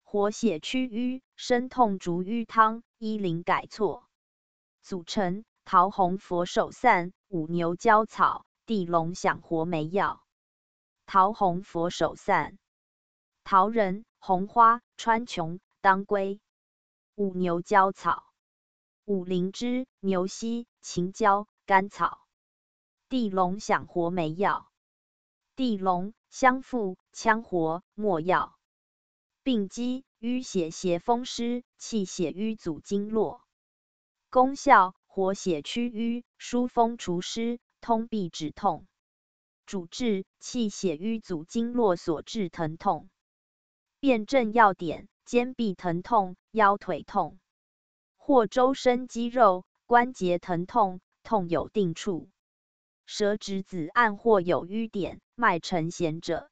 活血祛瘀，生痛逐瘀湯，醫靈改錯。組成：桃紅佛手散、五牛膠草、地龍響活梅藥。桃紅佛手散：桃仁、紅花、川芎、當歸。五牛膠草：五靈芝、牛膝、秦椒、甘草。地龍響活梅藥。地龍，香附，羌活，沒藥。病機：淤血邪風濕，氣血瘀阻經絡。功效：活血祛瘀，疏風除濕，通痹止痛。主治：氣血瘀阻經絡所致疼痛。辨證要點：肩臂疼痛、腰腿痛，或周身肌肉、關節疼痛，痛有定處。舌質紫暗或有瘀點，脈沉弦者。